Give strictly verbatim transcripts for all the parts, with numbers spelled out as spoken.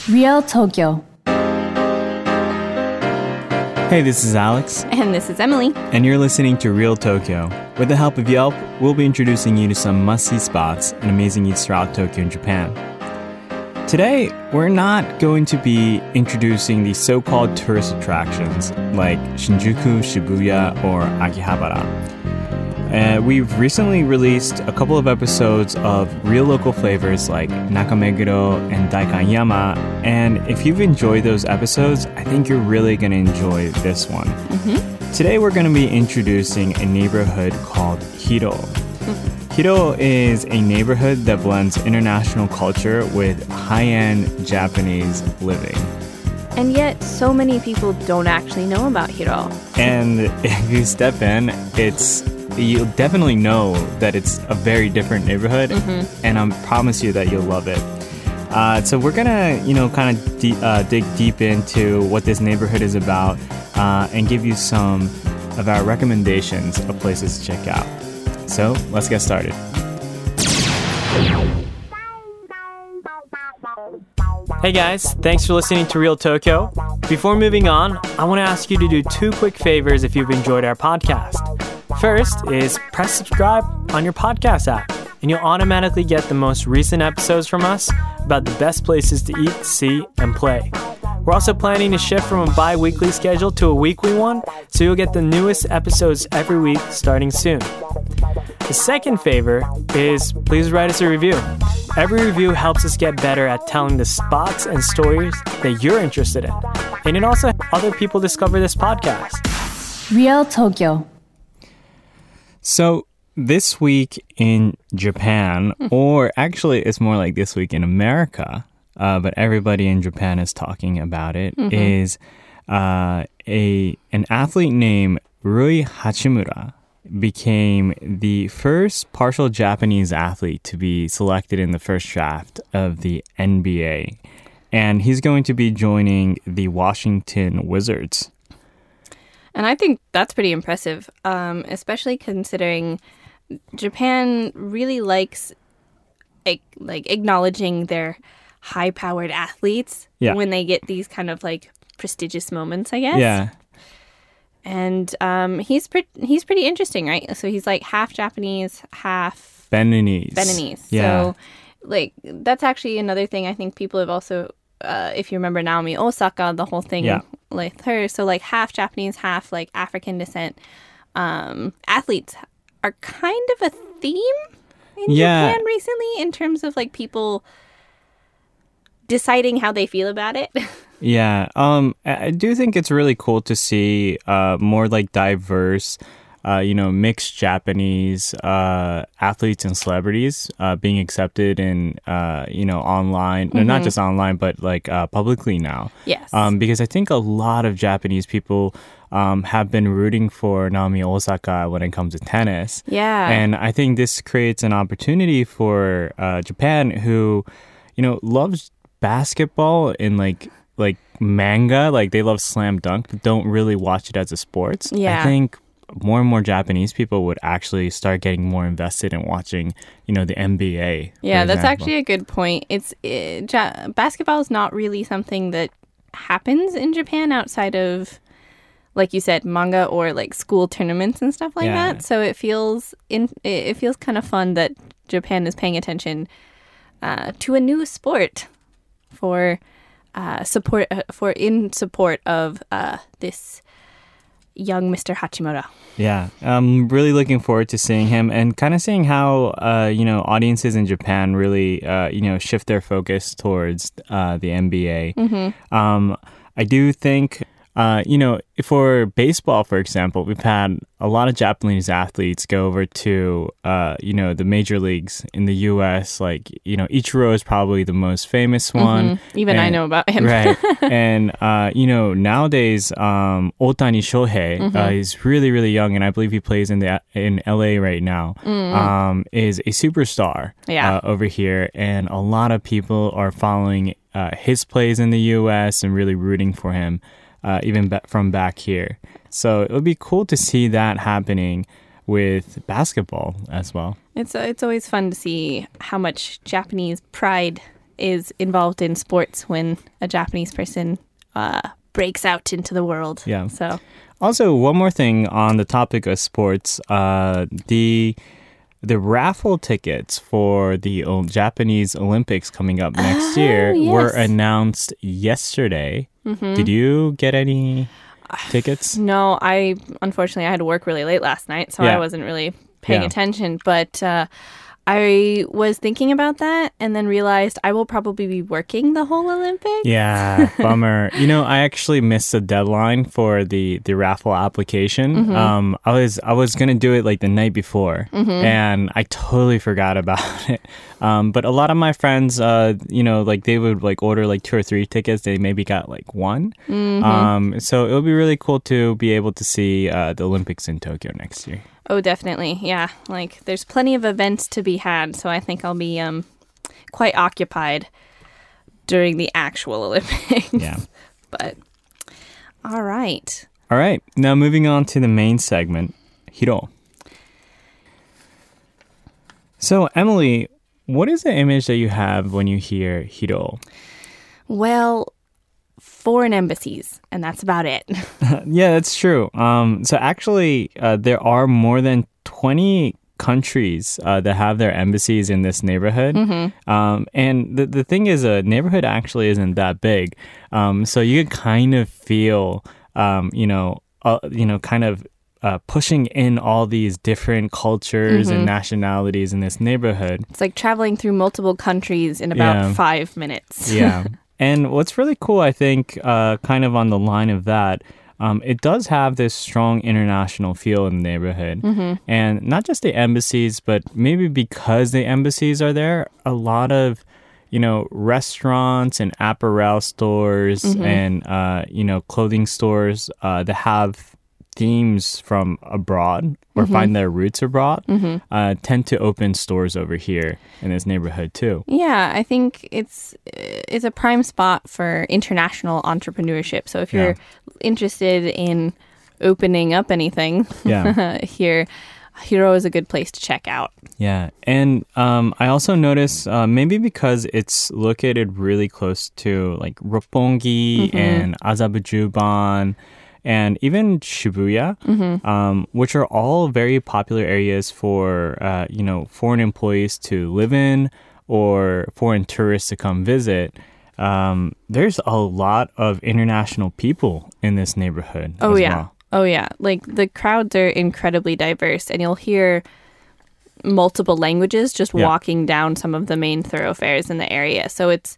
Real Tokyo. Hey, this is Alex. And this is Emily. And you're listening to Real Tokyo. With the help of Yelp, we'll be introducing you to some must-see spots and amazing eats throughout Tokyo and Japan. Today, we're not going to be introducing the so-called tourist attractions like Shinjuku, Shibuya, or Akihabara. Uh, we've recently released a couple of episodes of real local flavors like Nakameguro and Daikanyama, and if you've enjoyed those episodes, I think you're really going to enjoy this one. Mm-hmm. Today we're going to be introducing a neighborhood called Hiro. Mm-hmm. Hiro is a neighborhood that blends international culture with high-end Japanese living. And yet, so many people don't actually know about Hiro. And if you step in, it's you'll definitely know that it's a very different neighborhood, mm-hmm. and I promise you that you'll love it. Uh, so we're gonna, you know, kind of de- uh, dig deep into what this neighborhood is about, uh, and give you some of our recommendations of places to check out. So let's get started. Hey guys, thanks for listening to Real Tokyo. Before moving on, I want to ask you to do two quick favors if you've enjoyed our podcast. First is press subscribe on your podcast app, and you'll automatically get the most recent episodes from us about the best places to eat, see, and play. We're also planning to shift from a bi-weekly schedule to a weekly one, so you'll get the newest episodes every week starting soon. The second favor is please write us a review. Every review helps us get better at telling the spots and stories that you're interested in, and it also helps other people discover this podcast. Real Tokyo. So this week in Japan, or actually it's more like this week in America, uh, but everybody in Japan is talking about it, mm-hmm. is uh, a an athlete named Rui Hachimura became the first partial Japanese athlete to be selected in the first draft of the N B A. And he's going to be joining the Washington Wizards. And I think that's pretty impressive, um, especially considering Japan really likes like, like acknowledging their high-powered athletes yeah. when they get these kind of like prestigious moments, I guess. Yeah. And um, he's pre- he's pretty interesting, right? So he's like half Japanese, half Beninese. Beninese. Yeah. So like that's actually another thing I think people have also, uh, if you remember Naomi Osaka, the whole thing yeah. with her. So like half Japanese, half like African descent um, athletes are kind of a theme in yeah. Japan recently in terms of like people deciding how they feel about it. Yeah, um, I do think it's really cool to see uh, more like diverse, uh, you know, mixed Japanese uh, athletes and celebrities uh, being accepted in, uh, you know, online, mm-hmm. no, not just online, but like uh, publicly now. Yes. Um, because I think a lot of Japanese people um, have been rooting for Naomi Osaka when it comes to tennis. Yeah. And I think this creates an opportunity for uh, Japan, who, you know, loves basketball and like, like manga, like they love Slam Dunk, but don't really watch it as a sport. Yeah. I think more and more Japanese people would actually start getting more invested in watching, you know, the N B A. Yeah, that's example. actually a good point. It's it, ja- basketball is not really something that happens in Japan outside of, like you said, manga or like school tournaments and stuff like Yeah. that. So it feels in it feels kind of fun that Japan is paying attention uh, to a new sport for. Uh, support uh, for in support of uh, this young Mister Hachimura. Yeah, I'm really looking forward to seeing him and kind of seeing how uh, you know audiences in Japan really uh, you know shift their focus towards uh, the N B A. Mm-hmm. Um, I do think. Uh, you know, for baseball, for example, we've had a lot of Japanese athletes go over to, uh, you know, the major leagues in the U S. Like, you know, Ichiro is probably the most famous one. Mm-hmm. Even and, I know about him. Right. And, uh, you know, nowadays, um, Ohtani Shohei mm-hmm. uh, is really, really young, and I believe he plays in the in L A right now, mm-hmm. um, is a superstar yeah. uh, over here. And a lot of people are following uh, his plays in the U S and really rooting for him. Uh, even ba- from back here. So it would be cool to see that happening with basketball as well. It's uh, it's always fun to see how much Japanese pride is involved in sports when a Japanese person uh, breaks out into the world. Yeah. So Also, one more thing on the topic of sports, uh, the the raffle tickets for the o- Japanese Olympics coming up next Oh, year were yes. announced yesterday. Did you get any tickets? no, I unfortunately I had to work really late last night, so I Yeah. wasn't really paying Yeah. attention. But uh, I was thinking about that and then realized I will probably be working the whole Olympics. Yeah, bummer. You know, I actually missed the deadline for the, the raffle application. Um, I was I was gonna do it like the night before, and I totally forgot about it. Um, but a lot of my friends, uh, you know, like they would like order like two or three tickets. They maybe got like one. Um, so it would be really cool to be able to see uh, the Olympics in Tokyo next year. Oh, definitely. Yeah. Like there's plenty of events to be had, so I think I'll be um quite occupied during the actual Olympics. Yeah. But all right. All right. Now moving on to the main segment, Hiro. So Emily, what is the image that you have when you hear Hiro? Well, foreign embassies, and that's about it. Yeah, that's true. Um, so actually, uh, there are more than twenty countries uh, that have their embassies in this neighborhood. Um, and the, the thing is, a neighborhood actually isn't that big. Um, so you can kind of feel, um, you know, uh, you know, kind of uh, pushing in all these different cultures and nationalities in this neighborhood. It's like traveling through multiple countries in about Yeah. five minutes. Yeah. And what's really cool, I think, uh, kind of on the line of that, um, it does have this strong international feel in the neighborhood. And not just the embassies, but maybe because the embassies are there, a lot of, you know, restaurants and apparel stores and, uh, you know, clothing stores uh, that have themes from abroad or find their roots abroad uh, tend to open stores over here in this neighborhood too. Yeah, I think it's it's a prime spot for international entrepreneurship. So if you're interested in opening up anything Yeah. here, Hiro is a good place to check out. Yeah, and um, I also noticed uh, maybe because it's located really close to like Roppongi and Azabujuban and even Shibuya, um, which are all very popular areas for uh, you know foreign employees to live in or foreign tourists to come visit. Um, there's a lot of international people in this neighborhood. Oh as yeah. well. Oh yeah. Like the crowds are incredibly diverse and you'll hear multiple languages just Yeah. walking down some of the main thoroughfares in the area. So it's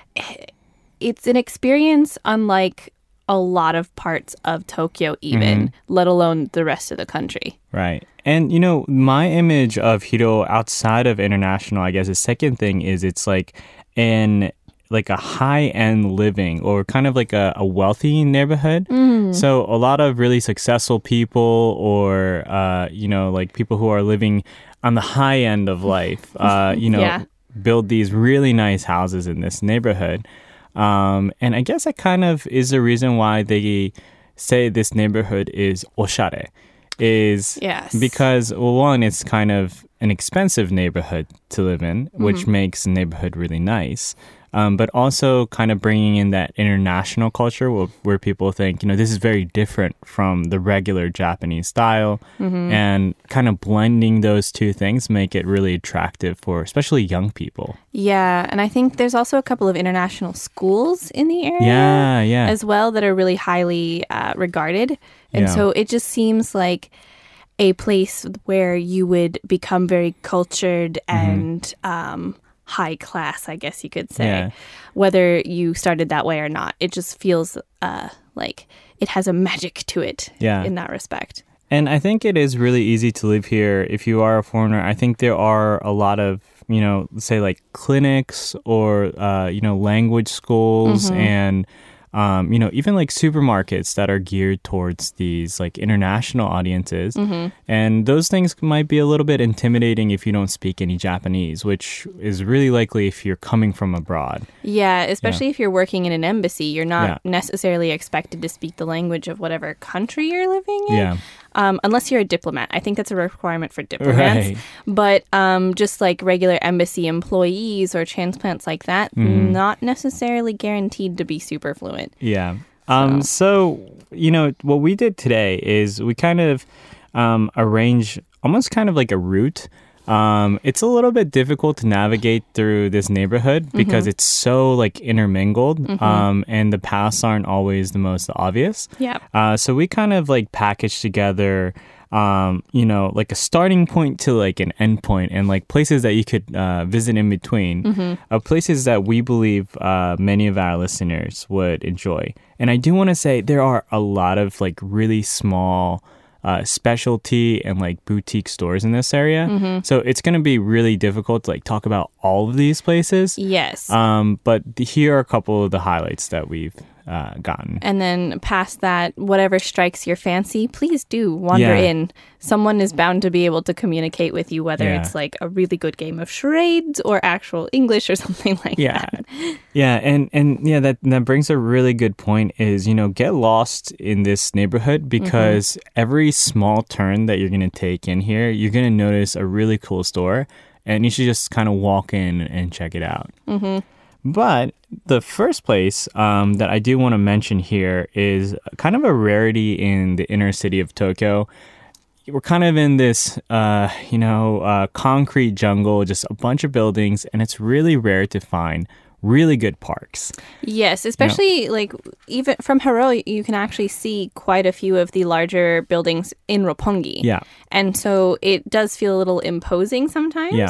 it's an experience unlike a lot of parts of Tokyo even, let alone the rest of the country. Right. And, you know, my image of Hiro outside of international, I guess the second thing is it's like in like a high-end living or kind of like a, a wealthy neighborhood. So a lot of really successful people or, uh, you know, like people who are living on the high end of life, uh, you know, Yeah. build these really nice houses in this neighborhood. Um, and I guess that kind of is the reason why they say this neighborhood is oshare. Is Yes. because, well, one, it's kind of an expensive neighborhood to live in, which makes the neighborhood really nice. Um, but also kind of bringing in that international culture where, where people think, you know, this is very different from the regular Japanese style. And kind of blending those two things make it really attractive for especially young people. Yeah, and I think there's also a couple of international schools in the area. Yeah, yeah. As well that are really highly uh, regarded. And Yeah. so it just seems like a place where you would become very cultured Mm-hmm. and um, high class, I guess you could say, Yeah. whether you started that way or not. It just feels uh, like it has a magic to it Yeah. in that respect. And I think it is really easy to live here if you are a foreigner. I think there are a lot of, you know, say like clinics or, uh, you know, language schools and, um, you know, even like supermarkets that are geared towards these like international audiences. And those things might be a little bit intimidating if you don't speak any Japanese, which is really likely if you're coming from abroad. Yeah, especially if you're working in an embassy, you're not Yeah. necessarily expected to speak the language of whatever country you're living in. Yeah. Um, unless you're a diplomat. I think that's a requirement for diplomats. Right. But um, just like regular embassy employees or transplants like that, Mm. not necessarily guaranteed to be super fluent. Yeah. Um, so, you know, what we did today is we kind of um, arranged almost kind of like a route. Um, it's a little bit difficult to navigate through this neighborhood because Mm-hmm. it's so like intermingled, um, and the paths aren't always the most obvious. Yeah. Uh, so we kind of like packaged together, um, you know, like a starting point to like an end point and like places that you could uh, visit in between, Mm-hmm. of places that we believe uh, many of our listeners would enjoy. And I do want to say there are a lot of like really small uh, specialty and like boutique stores in this area. Mm-hmm. So it's going to be really difficult to like talk about all of these places. Yes. Um, but th- here are a couple of the highlights that we've uh, gotten. And then past that, whatever strikes your fancy, please do wander Yeah. in. Someone is bound to be able to communicate with you, whether Yeah. it's like a really good game of charades or actual English or something like Yeah. that. Yeah, and and yeah, that that brings a really good point is, you know, get lost in this neighborhood because every small turn that you're going to take in here, you're going to notice a really cool store and you should just kind of walk in and check it out. Mm-hmm. But the first place um, that I do want to mention here is kind of a rarity in the inner city of Tokyo. We're kind of in this, uh, you know, uh, concrete jungle, just a bunch of buildings, and it's really rare to find really good parks. Yes, especially like even from Haro, you can actually see quite a few of the larger buildings in Roppongi. Yeah. And so it does feel a little imposing sometimes. Yeah.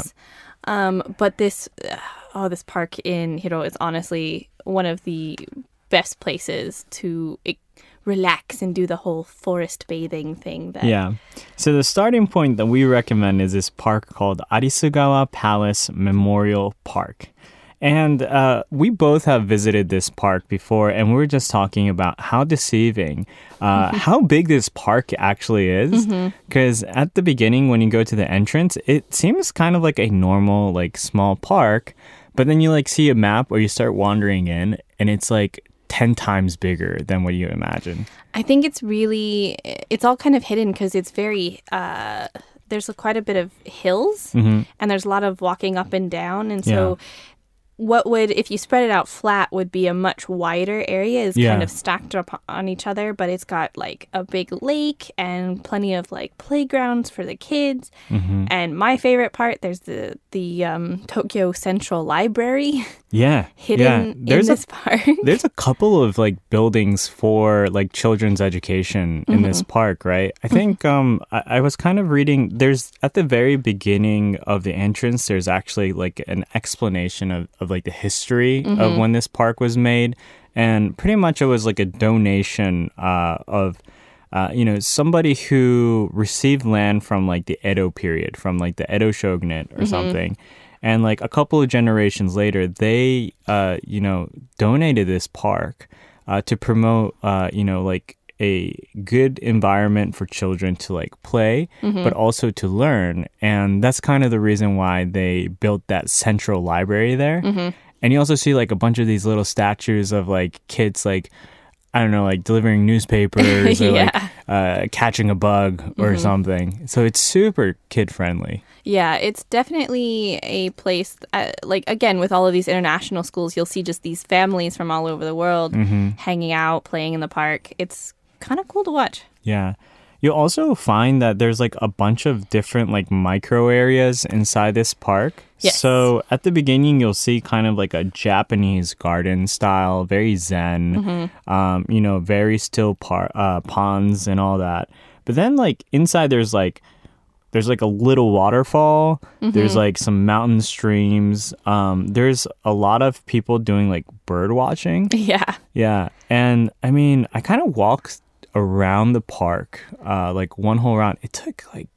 Um, but this, oh, this park in Hiro is honestly one of the best places to e- relax and do the whole forest bathing thing. That Yeah. So the starting point that we recommend is this park called Arisugawa Palace Memorial Park. And uh, we both have visited this park before, and we were just talking about how deceiving, uh, how big this park actually is. Because at the beginning, when you go to the entrance, it seems kind of like a normal, like small park. But then you like see a map or you start wandering in, and it's like ten times bigger than what you imagine. I think it's really, it's all kind of hidden because it's very, uh, there's a, quite a bit of hills and there's a lot of walking up and down. And so what would, if you spread it out flat, would be a much wider area is Yeah. kind of stacked up on each other, but it's got like a big lake and plenty of like playgrounds for the kids. And my favorite part, there's the, the um, Tokyo Central Library Yeah. hidden yeah. in There's this a, park. There's a couple of like buildings for like children's education in this park, right? I think um I, I was kind of reading there's at the very beginning of the entrance there's actually like an explanation of, of like the history of when this park was made. And pretty much it was like a donation uh of uh, you know, somebody who received land from like the Edo period, from like the Edo shogunate or something. And like a couple of generations later, they, uh, you know, donated this park uh, to promote, uh, you know, like a good environment for children to like play, but also to learn. And that's kind of the reason why they built that central library there. And you also see like a bunch of these little statues of like kids like, I don't know, like delivering newspapers or like Yeah. uh, catching a bug or something. So it's super kid friendly. Yeah, it's definitely a place, uh, like, again, with all of these international schools, you'll see just these families from all over the world hanging out, playing in the park. It's kind of cool to watch. Yeah. You'll also find that there's like a bunch of different like micro areas inside this park. Yes. So at the beginning, you'll see kind of like a Japanese garden style, very zen, um, you know, very still par- uh, ponds and all that. But then like inside there's like, there's like a little waterfall. There's like some mountain streams. Um, there's a lot of people doing like bird watching. Yeah. Yeah. And I mean, I kind of walked around the park, uh, like one whole round. It took like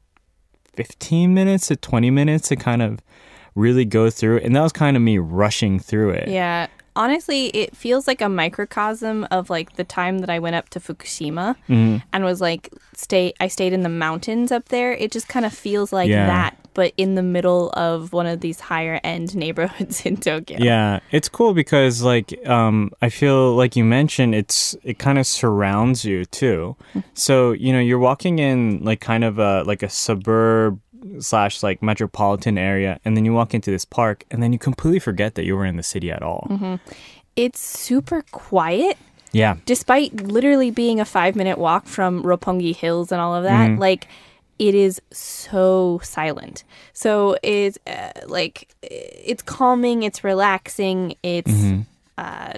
fifteen minutes to twenty minutes to kind of really go through it. And that was kind of me rushing through it. Yeah. Honestly, it feels like a microcosm of like the time that I went up to Fukushima and was like, stay. I stayed in the mountains up there. It just kind of feels like Yeah. that but in the middle of one of these higher end neighborhoods in Tokyo. Yeah, it's cool because like um, I feel like you mentioned it's it kind of surrounds you too. So you know you're walking in like kind of a like a suburb slash like metropolitan area, and then you walk into this park, and then you completely forget that you were in the city at all. Mm-hmm. It's super quiet. Yeah, despite literally being a five minute walk from Roppongi Hills and all of that, mm-hmm. like. It is so silent. So it's uh, like it's calming, it's relaxing, it's mm-hmm. uh,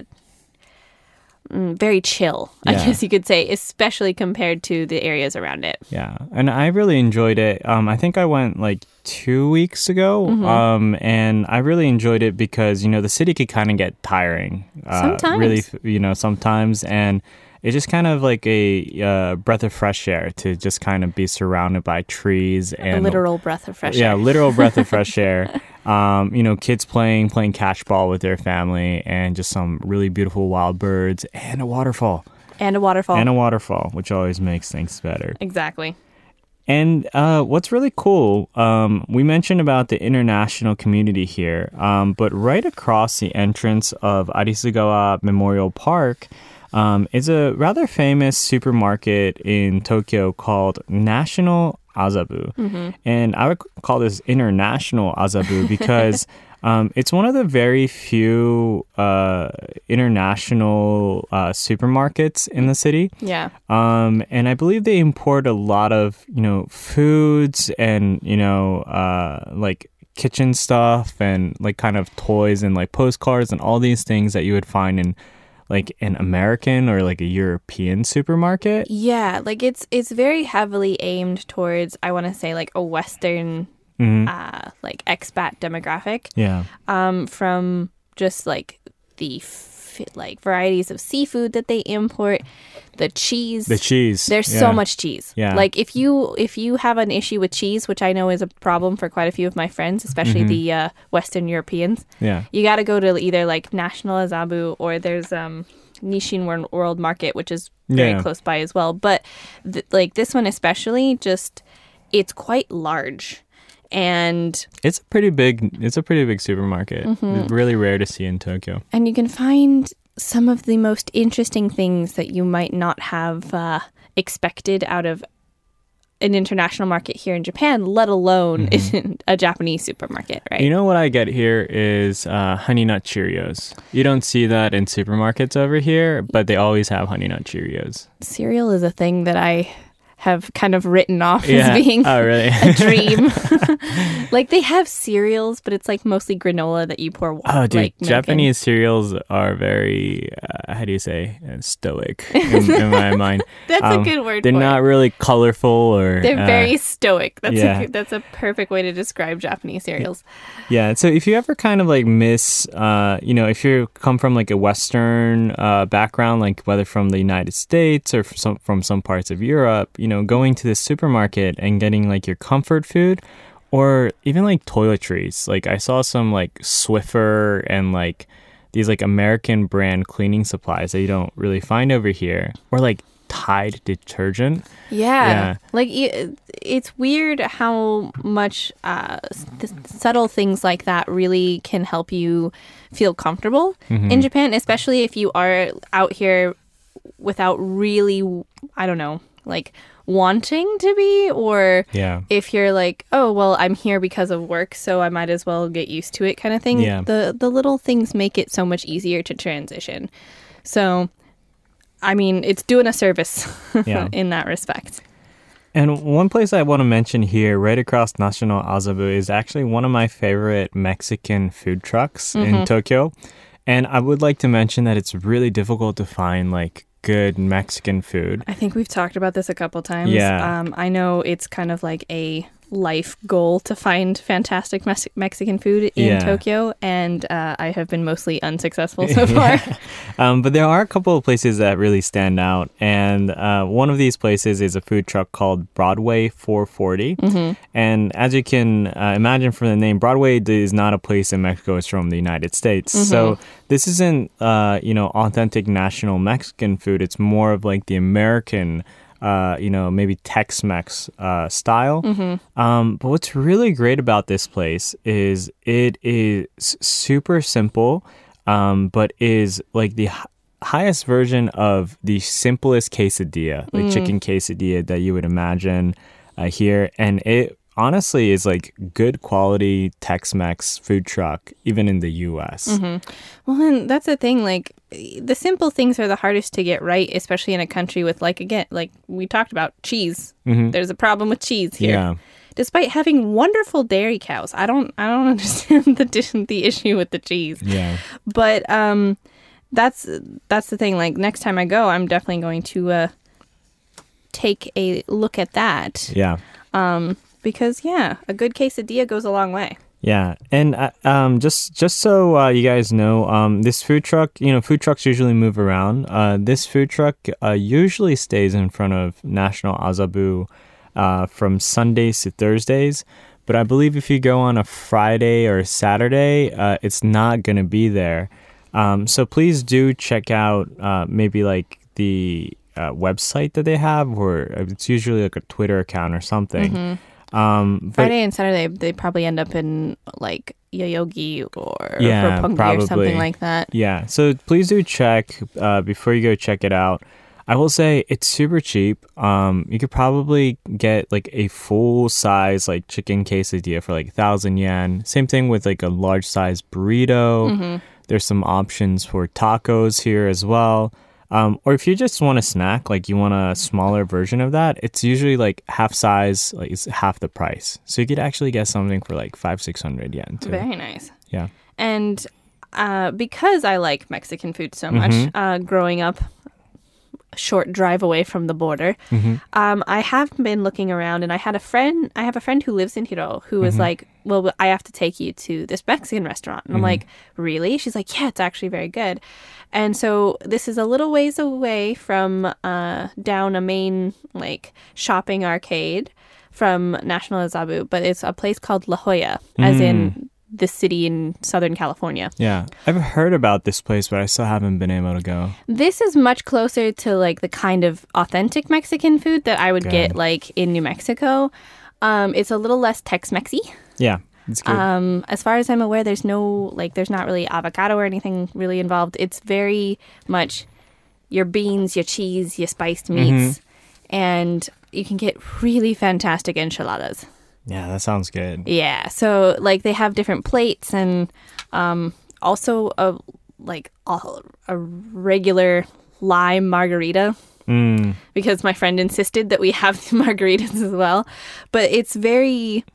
very chill, yeah. I guess you could say, especially compared to the areas around it. Yeah, and I really enjoyed it. Um, I think I went like two weeks ago, mm-hmm. um, and I really enjoyed it because, you know, the city could kind of get tiring. Uh, sometimes. Really, you know, sometimes, and it's just kind of like a uh, breath of fresh air to just kind of be surrounded by trees and a literal breath of fresh yeah, air. Yeah, literal breath of fresh air. Um, you know, kids playing playing catch ball with their family, and just some really beautiful wild birds and a waterfall. And a waterfall. And a waterfall, which always makes things better. Exactly. And uh, what's really cool, um, we mentioned about the international community here, um, but right across the entrance of Arisugawa Memorial Park, Um, it's a rather famous supermarket in Tokyo called National Azabu. Mm-hmm. And I would call this International Azabu because um, it's one of the very few uh, international uh, supermarkets in the city. Yeah. Um, and I believe they import a lot of, you know, foods and, you know, uh, like kitchen stuff and like kind of toys and like postcards and all these things that you would find in like an American or like a European supermarket. Yeah, like it's it's very heavily aimed towards, I want to say, like a Western mm-hmm. uh, like expat demographic. Yeah. Um, from just like the f- like varieties of seafood that they import, the cheese. The cheese. There's yeah. so much cheese. Yeah. Like if you if you have an issue with cheese, which I know is a problem for quite a few of my friends, especially mm-hmm. the uh, Western Europeans. Yeah. You got to go to either like National Azabu or there's um Nishin World Market, which is very yeah. close by as well. But th- like this one especially, just it's quite large. And it's a pretty big it's a pretty big supermarket. Mm-hmm. It's really rare to see in Tokyo. And you can find some of the most interesting things that you might not have uh, expected out of an international market here in Japan, let alone mm-hmm. in a Japanese supermarket, right? You know what I get here is uh, Honey Nut Cheerios. You don't see that in supermarkets over here, but they always have Honey Nut Cheerios. Cereal is a thing that I have kind of written off yeah. as being oh, really? a dream. Like they have cereals, but it's like mostly granola that you pour water. Oh, dude, like Japanese cereals are very, uh, how do you say, uh, stoic in, in my mind. That's um, a good word. They're for not it. really colorful or. They're uh, very stoic. That's yeah. a that's a perfect way to describe Japanese cereals. Yeah. So if you ever kind of like miss, uh, you know, if you come from like a Western uh, background, like whether from the United States or from some, from some parts of Europe, you know, going to the supermarket and getting like your comfort food. Or even like toiletries. Like I saw some like Swiffer and like these like American brand cleaning supplies that you don't really find over here. Or like Tide detergent. Yeah. yeah. Like it, it's weird how much uh, th- subtle things like that really can help you feel comfortable mm-hmm. in Japan, especially if you are out here without really, I don't know, like wanting to be, or yeah. if you're like, oh, well, I'm here because of work, so I might as well get used to it kind of thing. Yeah. The the little things make it so much easier to transition. So, I mean, it's doing a service yeah. in that respect. And one place I want to mention here, right across National Azabu, is actually one of my favorite Mexican food trucks mm-hmm. in Tokyo. And I would like to mention that it's really difficult to find, like, good Mexican food. I think we've talked about this a couple times. Yeah. Um, I know it's kind of like a life goal to find fantastic Mes- Mexican food in yeah. Tokyo, and uh, I have been mostly unsuccessful so far. yeah. um, but there are a couple of places that really stand out, and uh, one of these places is a food truck called Broadway four forty. Mm-hmm. And as you can uh, imagine from the name, Broadway is not a place in Mexico; it's from the United States. Mm-hmm. So this isn't, uh, you know, authentic national Mexican food. It's more of like the American uh, you know, maybe Tex-Mex uh, style. Mm-hmm. Um, but what's really great about this place is it is super simple, um, but is like the h- highest version of the simplest quesadilla, like mm. chicken quesadilla that you would imagine uh, here. And it honestly is like good quality Tex-Mex food truck, even in the U S. Mm-hmm. Well, and that's the thing. Like, the simple things are the hardest to get right, especially in a country with, like, again, like we talked about, cheese. Mm-hmm. There's a problem with cheese here. Yeah. Despite having wonderful dairy cows, I don't, I don't understand the the issue with the cheese. Yeah. But um, that's that's the thing. Like, next time I go, I'm definitely going to uh, take a look at that. Yeah. Um. Because, yeah, a good quesadilla goes a long way. Yeah. And uh, um, just just so uh, you guys know, um, this food truck, you know, food trucks usually move around. Uh, this food truck uh, usually stays in front of National Azabu uh, from Sundays to Thursdays. But I believe if you go on a Friday or a Saturday, uh, it's not going to be there. Um, so please do check out uh, maybe like the uh, website that they have, or it's usually like a Twitter account or something. Mm-hmm. Um, but, Friday and Saturday, they probably end up in like Yoyogi or yeah, Roppongi probably. or something like that. Yeah, so please do check uh, before you go check it out. I will say it's super cheap. Um, you could probably get like a full size like chicken quesadilla for like a thousand yen. Same thing with like a large size burrito. Mm-hmm. There's some options for tacos here as well. Um, or if you just want a snack, like you want a smaller version of that, it's usually like half size, like it's half the price. So you could actually get something for like five, six hundred yen too. Very nice. Yeah. And uh, because I like Mexican food so much, mm-hmm. uh, growing up, a short drive away from the border, mm-hmm. um, I have been looking around, and I had a friend. I have a friend who lives in Hiro who was mm-hmm. like, "Well, I have to take you to this Mexican restaurant," and mm-hmm. I'm like, "Really?" She's like, "Yeah, it's actually very good." And so this is a little ways away from uh, down a main like shopping arcade from National Azabu, but it's a place called La Jolla, mm. as in the city in Southern California. Yeah, I've heard about this place, but I still haven't been able to go. This is much closer to like the kind of authentic Mexican food that I would good. get like in New Mexico. Um, it's a little less Tex-Mexy. Yeah. It's good. Um, as far as I'm aware, there's no, like, there's not really avocado or anything really involved. It's very much your beans, your cheese, your spiced meats, mm-hmm. and you can get really fantastic enchiladas. Yeah, that sounds good. Yeah, so, like, they have different plates and um, also, a like, a, a regular lime margarita. Mm. Because my friend insisted that we have the margaritas as well. But it's very...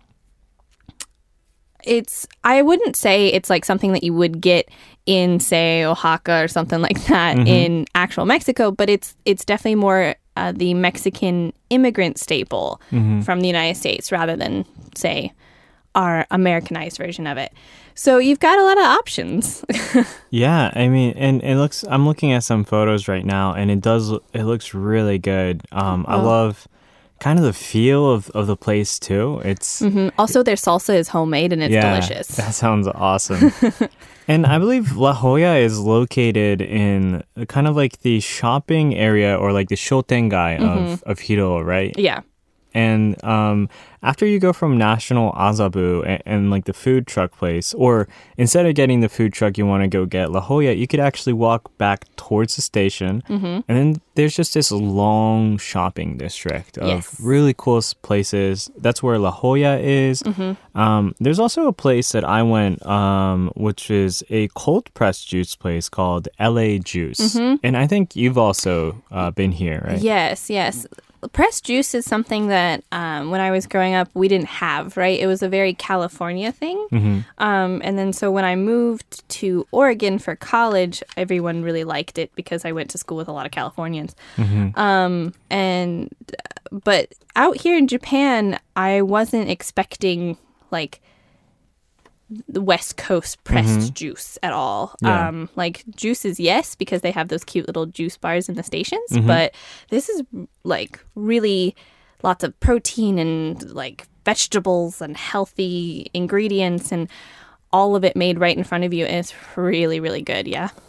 It's, I wouldn't say it's like something that you would get in, say, Oaxaca or something like that mm-hmm. in actual Mexico, but it's it's definitely more uh, the Mexican immigrant staple mm-hmm. from the United States rather than, say, our Americanized version of it. So you've got a lot of options. Yeah, I mean, and it looks, I'm looking at some photos right now, and it does, it looks really good. Um, oh. I love... kind of the feel of, of the place too. It's mm-hmm. also their salsa is homemade and it's yeah, delicious. That sounds awesome. And I believe La Jolla is located in kind of like the shopping area or like the shotengai mm-hmm. of, of Hiro, right? Yeah. And um, after you go from National Azabu and, and like the food truck place, or instead of getting the food truck, you want to go get La Jolla, you could actually walk back towards the station. Mm-hmm. And then there's just this long shopping district of yes. really cool places. That's where La Jolla is. Mm-hmm. Um, there's also a place that I went, um, which is a cold pressed juice place called L A Juice. Mm-hmm. And I think you've also uh, been here, right? Yes, yes. Pressed juice is something that um, when I was growing up, we didn't have, right? It was a very California thing. Mm-hmm. Um, and then so when I moved to Oregon for college, everyone really liked it because I went to school with a lot of Californians. Mm-hmm. Um, and but out here in Japan, I wasn't expecting like the West Coast pressed mm-hmm. juice at all. Yeah. Um, like juices, yes, because they have those cute little juice bars in the stations. Mm-hmm. But this is like really lots of protein and like vegetables and healthy ingredients and all of it made right in front of you. And it's really, really good. Yeah.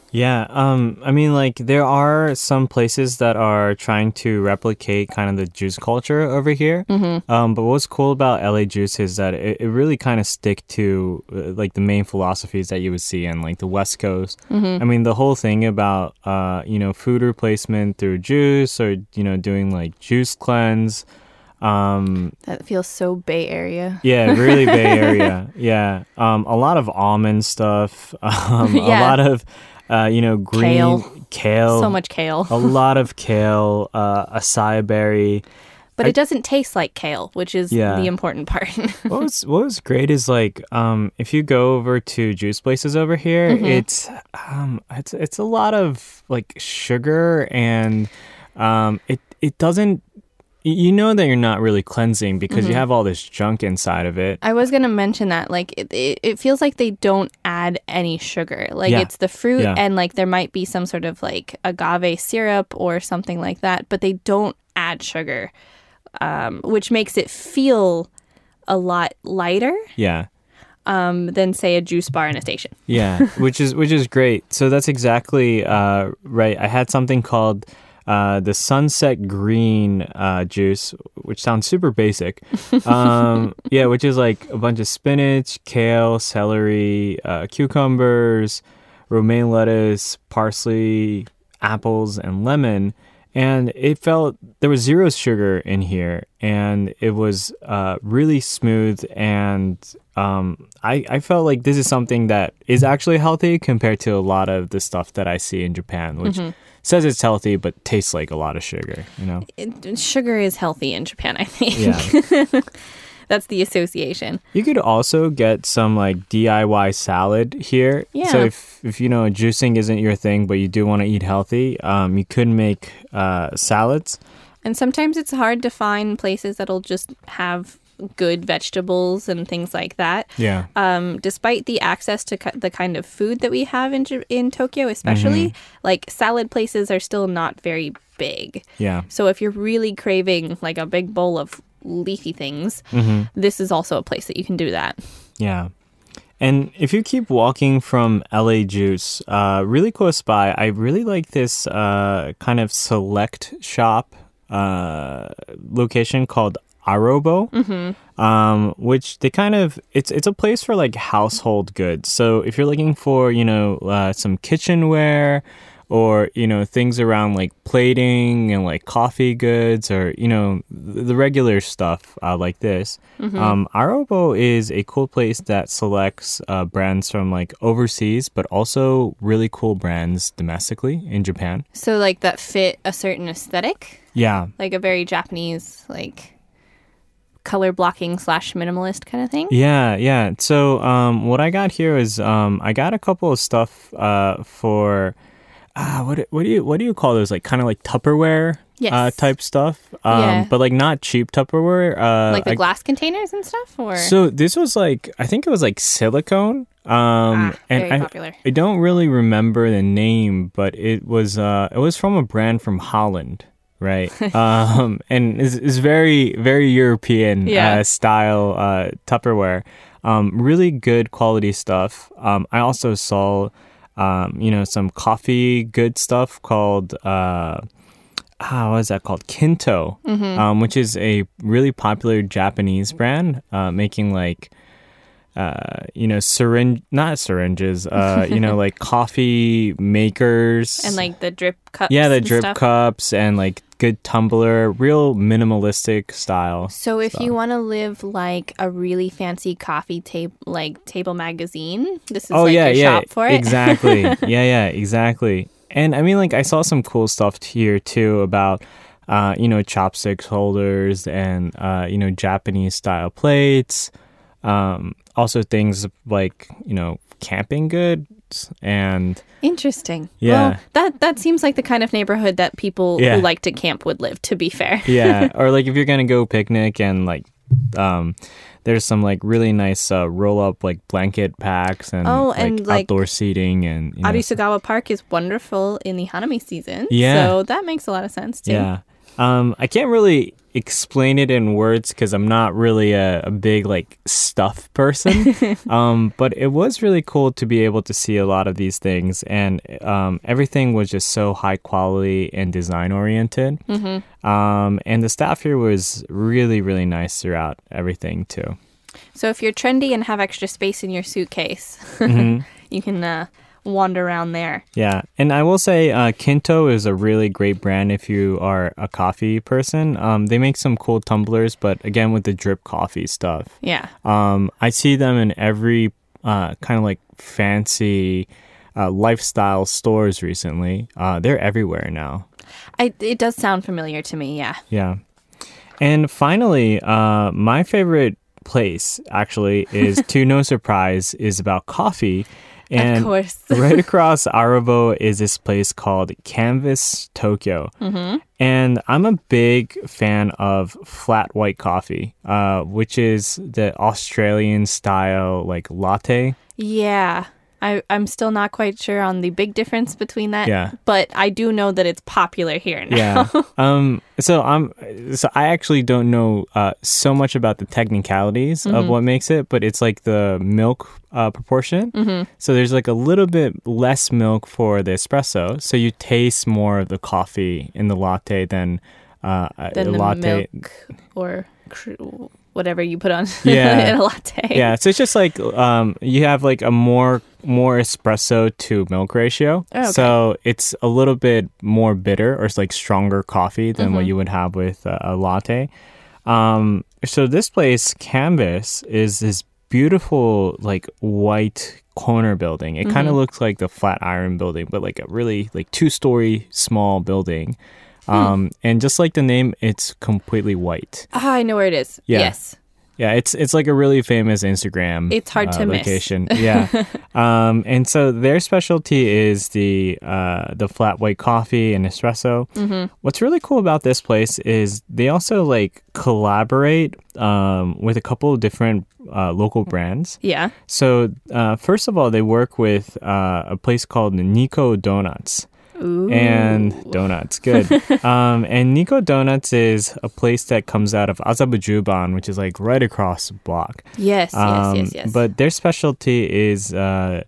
Yeah, um, I mean, like, there are some places that are trying to replicate kind of the juice culture over here. Mm-hmm. Um, but what's cool about L A Juice is that it, it really kind of stick to, uh, like, the main philosophies that you would see in, like, the West Coast. Mm-hmm. I mean, the whole thing about, uh, you know, food replacement through juice or, you know, doing, like, juice cleanse. Um, that feels so Bay Area. Yeah, really Bay Area. Yeah. Um, a lot of almond stuff. Um, yeah. A lot of... Uh, you know, green kale. kale. So much kale. A lot of kale, uh, acai berry. But I, it doesn't taste like kale, which is yeah. the important part. what was what was great is like um, if you go over to juice places over here, mm-hmm. it's um, it's it's a lot of like sugar and um, it it doesn't. You know that you're not really cleansing because mm-hmm. you have all this junk inside of it. I was going to mention that. Like, it, it, it feels like they don't add any sugar. Like, yeah. it's the fruit yeah. and, like, there might be some sort of, like, agave syrup or something like that. But they don't add sugar, um, which makes it feel a lot lighter. Yeah. Um, than, say, a juice bar in a station. Yeah, which is which is great. So that's exactly uh, right. I had something called... Uh, the Sunset Green uh, juice, which sounds super basic. Um, yeah, which is like a bunch of spinach, kale, celery, uh, cucumbers, romaine lettuce, parsley, apples, and lemon. And it felt, there was zero sugar in here. And it was uh, really smooth. And um, I, I felt like this is something that is actually healthy compared to a lot of the stuff that I see in Japan, which... Mm-hmm. says it's healthy, but tastes like a lot of sugar, you know? It, sugar is healthy in Japan, I think. Yeah. That's the association. You could also get some, like, D I Y salad here. Yeah. So if, if you know, juicing isn't your thing, but you do want to eat healthy, um, you could make uh, salads. And sometimes it's hard to find places that'll just have good vegetables and things like that. Yeah. Um, despite the access to ki- the kind of food that we have in in Tokyo, especially, mm-hmm. like salad places are still not very big. Yeah. So if you're really craving like a big bowl of leafy things, mm-hmm. this is also a place that you can do that. Yeah. And if you keep walking from L A Juice, uh, really close by, I really like this uh, kind of select shop uh, location called Arobo, mm-hmm. um, which they kind of, it's it's a place for like household goods. So if you're looking for, you know, uh, some kitchenware or, you know, things around like plating and like coffee goods or, you know, the regular stuff uh, like this, mm-hmm. um, Arobo is a cool place that selects uh, brands from like overseas, but also really cool brands domestically in Japan. So like that fit a certain aesthetic? Yeah. Like a very Japanese, like... color blocking slash minimalist kind of thing? Yeah, yeah. So um, what I got here is um, I got a couple of stuff uh, for uh, what what do you what do you call those? Like kind of like Tupperware yes. uh, type stuff. Um, yeah. But like not cheap Tupperware. Uh, like the I, glass containers and stuff? Or So this was like, I think it was like silicone. Um, ah, and very I, popular. I don't really remember the name, but it was uh, it was from a brand from Holland. Right. Um, and is is very, very European yeah. uh, style uh, Tupperware. Um, really good quality stuff. Um, I also saw, um, you know, some coffee good stuff called, uh, ah, what is that called? Kinto, mm-hmm. um, which is a really popular Japanese brand uh, making like, uh, you know, syringe, not syringes, uh, you know, like coffee makers. And like the drip cups. Yeah, the and drip stuff. cups and like good tumbler, real minimalistic style. So if stuff. you want to live like a really fancy coffee table, like table magazine, this is oh, like yeah, your yeah, shop for it. Exactly. yeah, yeah, exactly. And I mean, like I saw some cool stuff here too about, uh, you know, chopsticks holders and, uh, you know, Japanese style plates. Um, also things like, you know, camping goods and... Interesting. Yeah. Well, that, that seems like the kind of neighborhood that people yeah. who like to camp would live, to be fair. yeah. Or like if you're going to go picnic and like, um, there's some like really nice uh, roll up like blanket packs and, oh, like, and like outdoor seating and... You know, Arisugawa Park is wonderful in the Hanami season. Yeah. So that makes a lot of sense too. Yeah. Um, I can't really explain it in words because I'm not really a, a big like stuff person. um, but it was really cool to be able to see a lot of these things, and um, everything was just so high quality and design oriented. Mm-hmm. Um, and the staff here was really, really nice throughout everything too. So if you're trendy and have extra space in your suitcase, mm-hmm. you can uh, wander around there. Yeah. And I will say uh, Kinto is a really great brand if you are a coffee person. Um, they make some cool tumblers, but again, with the drip coffee stuff. Yeah. Um, I see them in every uh, kind of like fancy uh, lifestyle stores recently. Uh, they're everywhere now. I, it does sound familiar to me, yeah. Yeah. And finally, uh, my favorite place actually is, to no surprise, is about coffee. And of course. right across Arabo is this place called Canvas Tokyo. Mm-hmm. And I'm a big fan of flat white coffee, uh, which is the Australian style like latte. Yeah. I, I'm still not quite sure on the big difference between that. Yeah. But I do know that it's popular here now. Yeah. um. So I'm. So I actually don't know uh, so much about the technicalities mm-hmm. of what makes it, but it's like the milk uh, proportion. Mm-hmm. So there's like a little bit less milk for the espresso, so you taste more of the coffee in the latte than uh, than a the latte milk or cr- whatever you put on yeah. in a latte. Yeah. So it's just like um, you have like a more more espresso to milk ratio. Oh, okay. So it's a little bit more bitter, or it's like stronger coffee than mm-hmm. what you would have with a, a latte. Um, so this place, Canvas, is this beautiful like white corner building. It mm-hmm. kind of looks like the Flatiron building, but like a really like two-story small building. Hmm. Um, and just like the name, it's completely white. Ah, I know where it is. Yeah. Yes. Yeah, it's it's like a really famous Instagram It's hard uh, to location. miss. Yeah. Um, and so their specialty is the uh, the flat white coffee and espresso. Mm-hmm. What's really cool about this place is they also like collaborate um, with a couple of different uh, local brands. Yeah. So uh, first of all, they work with uh, a place called Nico Donuts. Ooh. And donuts, good. um, and Nico Donuts is a place that comes out of Azabujuban, which is like right across the block. Yes, um, yes, yes, yes. But their specialty is uh,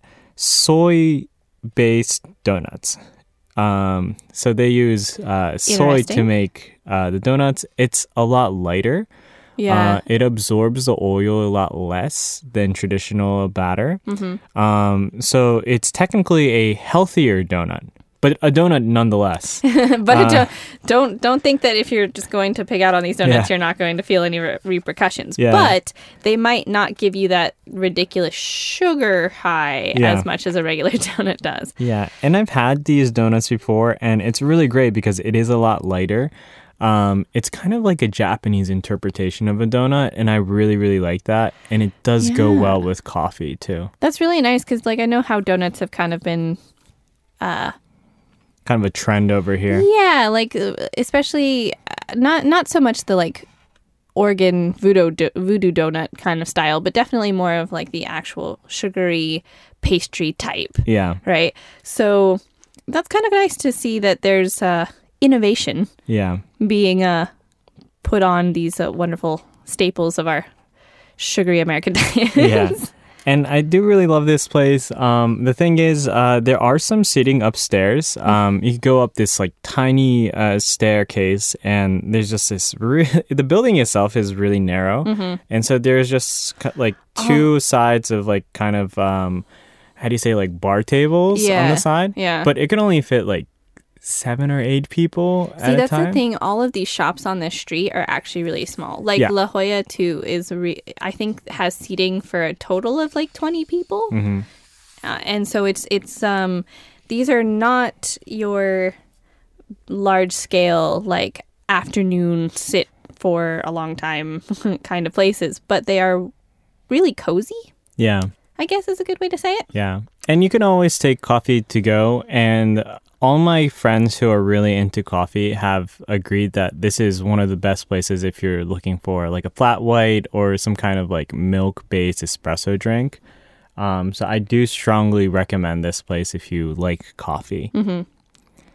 soy-based donuts. Um, so they use uh, soy to make uh, the donuts. It's a lot lighter. Yeah. Uh, it absorbs the oil a lot less than traditional batter. Mm-hmm. Um, so it's technically a healthier donut. But a donut nonetheless. but uh, don't, don't don't think that if you're just going to pig out on these donuts, yeah. you're not going to feel any re- repercussions. Yeah. But they might not give you that ridiculous sugar high yeah. as much as a regular donut does. Yeah, and I've had these donuts before, and it's really great because it is a lot lighter. Um, it's kind of like a Japanese interpretation of a donut, and I really, really like that. And it does yeah. go well with coffee, too. That's really nice because, like, I know how donuts have kind of been... Uh, kind of a trend over here. Yeah, like especially uh, not not so much the like Oregon voodoo do, voodoo donut kind of style, but definitely more of like the actual sugary pastry type. Yeah. Right. So that's kind of nice to see that there's uh, innovation. Yeah. Being uh, put on these uh, wonderful staples of our sugary American diet. Yeah. And I do really love this place. Um, the thing is, uh, there are some seating upstairs. Um, you can go up this like tiny uh, staircase, and there's just this. Re- the building itself is really narrow, mm-hmm. and so there's just like two oh. sides of like kind of um, how do you say like bar tables yeah. on the side. Yeah, but it can only fit like seven or eight people See, at a that's time. the thing. All of these shops on this street are actually really small. Like Yeah. La Jolla too is, re- I think, has seating for a total of like twenty people, Mm-hmm. uh, and so it's it's um these are not your large scale like afternoon sit for a long time kind of places, but they are really cozy. Yeah. I guess is a good way to say it. Yeah. And you can always take coffee to go. And all my friends who are really into coffee have agreed that this is one of the best places if you're looking for like a flat white or some kind of like milk-based espresso drink. Um, so I do strongly recommend this place if you like coffee. Mm-hmm.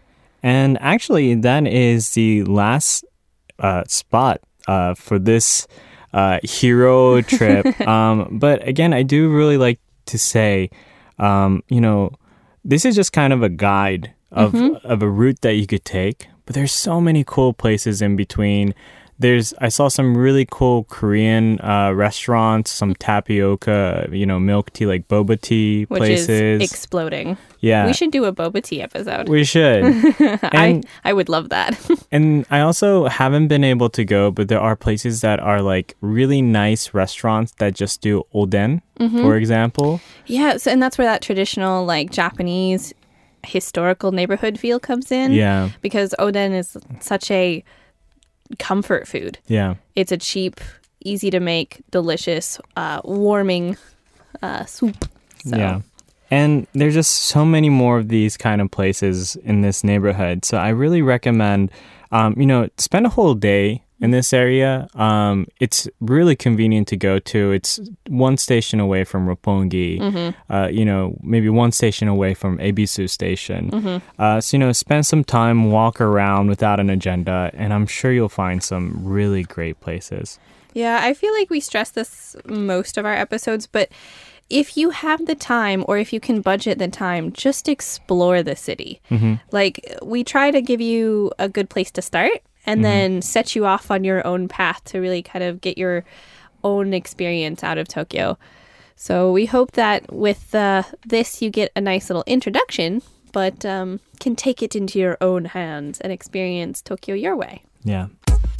And actually, that is the last uh, spot uh, for this uh, hero trip. um, but again, I do really like to say, um, you know, this is just kind of a guide of mm-hmm. of a route that you could take. But there's so many cool places in between. There's I saw some really cool Korean uh, restaurants, some tapioca, you know, milk tea, like boba tea Which places. is exploding. Yeah. We should do a boba tea episode. We should. I, I would love that. And I also haven't been able to go, but there are places that are like really nice restaurants that just do oden, mm-hmm. for example. Yeah, so, and that's where that traditional like Japanese historical neighborhood feel comes in. Yeah. Because oden is such a comfort food. Yeah. It's a cheap, easy to make, delicious, uh, warming uh, soup. So. Yeah. And there's just so many more of these kind of places in this neighborhood. So I really recommend, um, you know, spend a whole day in this area. Um, it's really convenient to go to. It's one station away from Roppongi, mm-hmm. uh, you know, maybe one station away from Ebisu Station. Mm-hmm. Uh, so, you know, spend some time, walk around without an agenda, and I'm sure you'll find some really great places. Yeah, I feel like we stress this most of our episodes, but if you have the time or if you can budget the time, just explore the city. Mm-hmm. Like, we try to give you a good place to start and mm-hmm. then set you off on your own path to really kind of get your own experience out of Tokyo. So we hope that with uh, this, you get a nice little introduction, but um, can take it into your own hands and experience Tokyo your way. Yeah.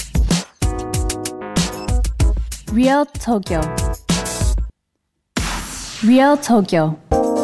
Real Tokyo. Real Tokyo.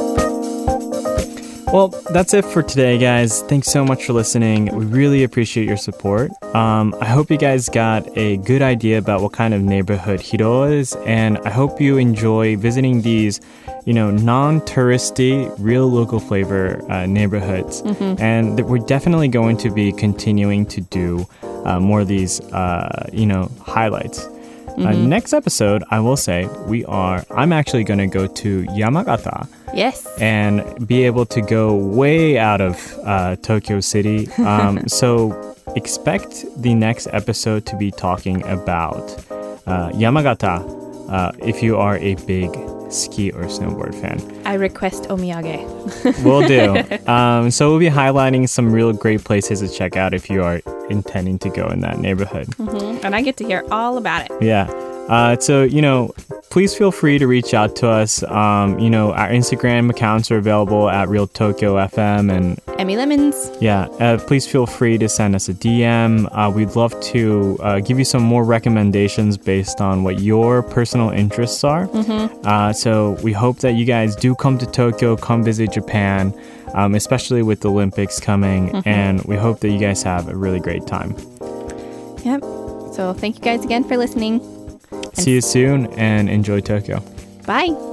Well, that's it for today, guys. Thanks so much for listening. We really appreciate your support. Um, I hope you guys got a good idea about what kind of neighborhood Hiro is, and I hope you enjoy visiting these, you know, non-touristy, real local flavor uh, neighborhoods. Mm-hmm. And th- we're definitely going to be continuing to do uh, more of these, uh, you know, highlights. Mm-hmm. Uh, next episode, I will say, we are, I'm actually going to go to Yamagata. Yes. And be able to go way out of uh, Tokyo City. Um, so expect the next episode to be talking about uh, Yamagata uh, if you are a big ski or snowboard fan. I request omiyage. Will do. Um, so we'll be highlighting some real great places to check out if you are intending to go in that neighborhood. Mm-hmm. And I get to hear all about it. Yeah. Uh, so, you know, please feel free to reach out to us. Um, you know, our Instagram accounts are available at Real Tokyo F M and Emmy Lemons. Yeah, uh, please feel free to send us a D M. Uh, we'd love to uh, give you some more recommendations based on what your personal interests are. Mm-hmm. Uh, so we hope that you guys do come to Tokyo, come visit Japan, um, especially with the Olympics coming. Mm-hmm. And we hope that you guys have a really great time. Yep. So thank you guys again for listening. See you soon and enjoy Tokyo. Bye.